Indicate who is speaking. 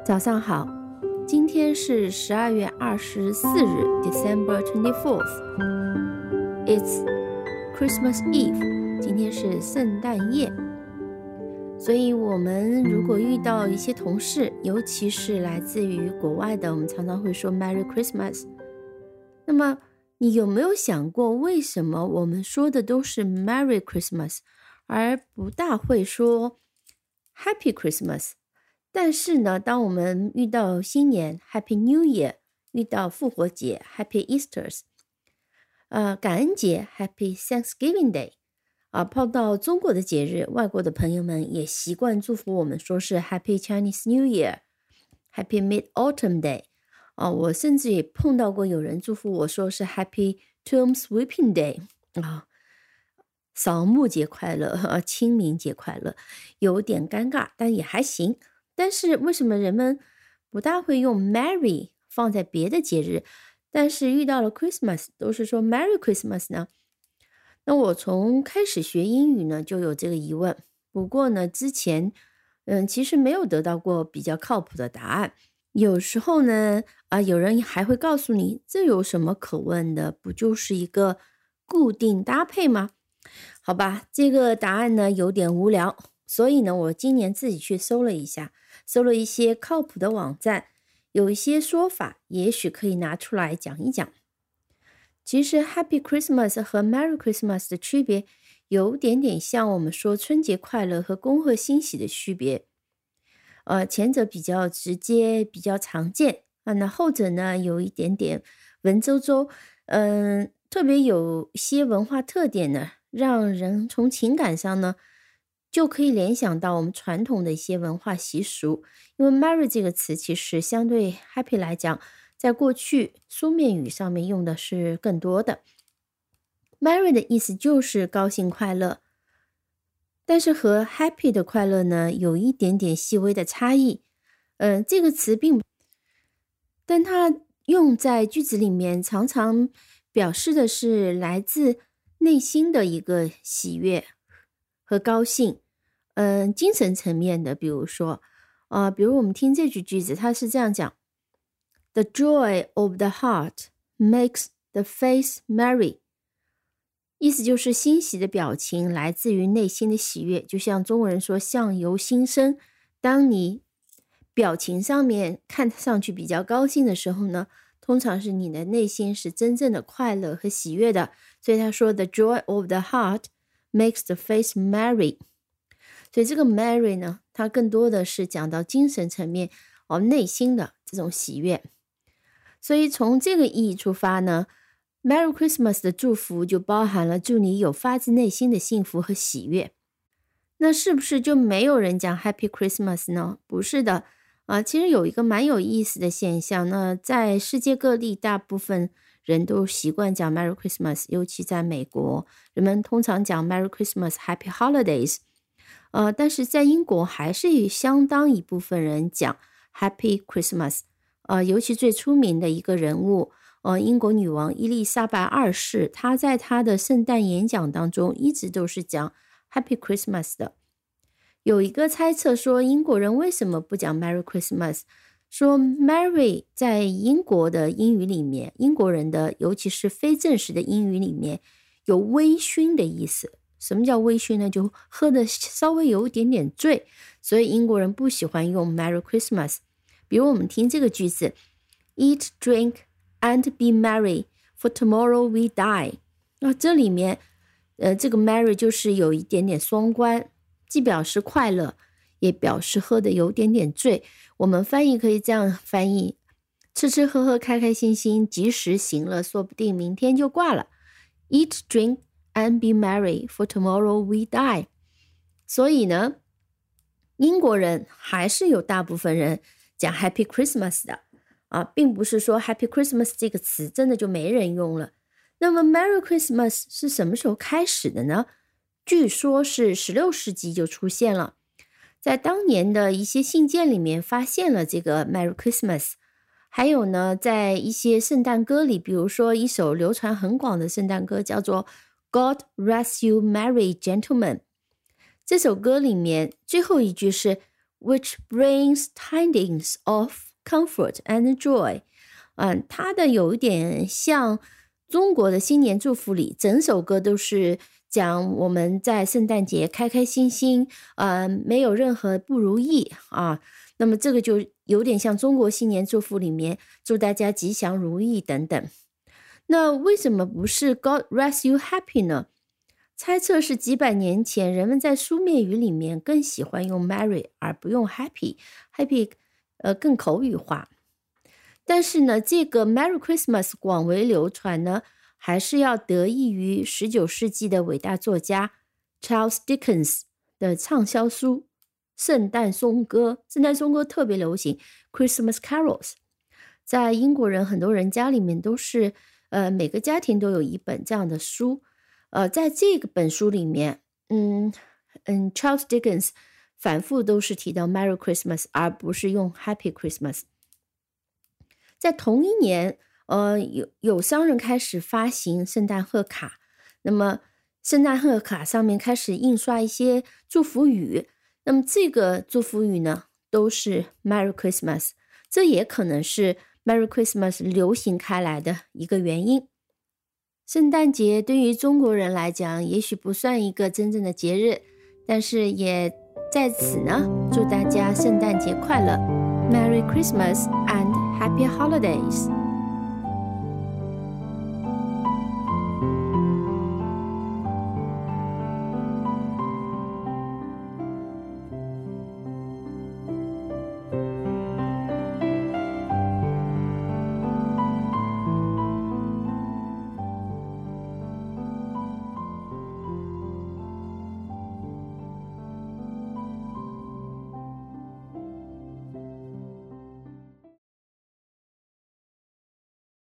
Speaker 1: 早上好，今天是12月24日 December 24th. It's Christmas Eve. 今天是圣诞夜，所以我们如果遇到一些同事，尤其是来自于国外的，我们常常会说 Merry Christmas。那么你有没有想过，为什么我们说的都是 Merry Christmas， 而不大会说 Happy Christmas？但是呢，当我们遇到新年 Happy New Year， 遇到复活节 Happy Easters， 感恩节 Happy Thanksgiving Day， 碰到中国的节日，外国的朋友们也习惯祝福我们说是 Happy Chinese New Year， Happy Mid-Autumn Day， 我甚至也碰到过有人祝福我说是 Happy Tomb Sweeping Day， 扫墓节快乐，清明节快乐，有点尴尬，但也还行。但是为什么人们不大会用 Merry 放在别的节日，但是遇到了 Christmas 都是说 Merry Christmas 呢？那我从开始学英语呢就有这个疑问，不过呢之前其实没有得到过比较靠谱的答案。有时候呢有人还会告诉你，这有什么可问的，不就是一个固定搭配吗？好吧，这个答案呢有点无聊，所以呢我今年自己去搜了一下，搜了一些靠谱的网站，有一些说法也许可以拿出来讲一讲。其实 Happy Christmas 和 Merry Christmas 的区别有点点像我们说春节快乐和恭贺新喜的区别。前者比较直接，比较常见那后者呢有一点点文绉绉，特别有些文化特点呢，让人从情感上呢就可以联想到我们传统的一些文化习俗。因为 Merry 这个词其实相对 Happy 来讲，在过去书面语上面用的是更多的。Merry 的意思就是高兴快乐，但是和 Happy 的快乐呢有一点点细微的差异。这个词但它用在句子里面常常表示的是来自内心的一个喜悦和高兴。精神层面的，比如说比如我们听这句句子，它是这样讲 The joy of the heart makes the face merry， 意思就是欣喜的表情来自于内心的喜悦，就像中国人说相由心生，当你表情上面看上去比较高兴的时候呢，通常是你的内心是真正的快乐和喜悦的。所以他说 The joy of the heart makes the face merry， 所以这个 merry 呢，它更多的是讲到精神层面内心的这种喜悦。所以从这个意义出发呢， Merry Christmas 的祝福就包含了祝你有发自内心的幸福和喜悦。那是不是就没有人讲 Happy Christmas 呢？不是的其实有一个蛮有意思的现象，那在世界各地大部分人都习惯讲 Merry Christmas， 尤其在美国，人们通常讲 Merry Christmas Happy Holidays，但是在英国还是有相当一部分人讲 Happy Christmas，尤其最出名的一个人物英国女王伊丽莎白二世，她在她的圣诞演讲当中一直都是讲 Happy Christmas 的。有一个猜测说英国人为什么不讲 Merry Christmas， 说 Merry 在英国的英语里面，英国人的尤其是非正式的英语里面有微醺的意思。什么叫微醺呢？就喝的稍微有一点点醉，所以英国人不喜欢用 Merry Christmas。 比如我们听这个句子 Eat, drink and be merry, for tomorrow we die。 这里面这个 merry 就是有一点点双关，既表示快乐，也表示喝的有点点醉。我们翻译可以这样翻译，吃吃喝喝开开心心，及时行乐，说不定明天就挂了。 Eat, drink and be merry, for tomorrow we die。 所以呢，英国人还是有大部分人讲 Happy Christmas 的并不是说 Happy Christmas 这个词真的就没人用了。那么 Merry Christmas 是什么时候开始的呢？据说是16世纪就出现了，在当年的一些信件里面发现了这个 Merry Christmas。 还有呢，在一些圣诞歌里，比如说一首流传很广的圣诞歌叫做 God Rest You Merry Gentlemen， 这首歌里面最后一句是 which brings tidings of comfort and joy。它的有一点像中国的新年祝福里，整首歌都是讲我们在圣诞节开开心心，没有任何不如意啊。那么这个就有点像中国新年祝福里面祝大家吉祥如意等等。那为什么不是 God rest you happy 呢？猜测是几百年前人们在书面语里面更喜欢用 Merry 而不用 Happy 更口语化。但是呢，这个 Merry Christmas 广为流传呢，还是要得益于19世纪的伟大作家 Charles Dickens 的畅销书圣诞颂歌。圣诞颂歌特别流行 Christmas Carols， 在英国人很多人家里面都是每个家庭都有一本这样的书。在这个本书里面Charles Dickens 反复都是提到 Merry Christmas 而不是用 Happy Christmas。 在同一年有商人开始发行圣诞贺卡，那么圣诞贺卡上面开始印刷一些祝福语，那么这个祝福语呢都是 Merry Christmas， 这也可能是 Merry Christmas 流行开来的一个原因。圣诞节对于中国人来讲也许不算一个真正的节日，但是也在此呢祝大家圣诞节快乐， Merry Christmas and Happy Holidays。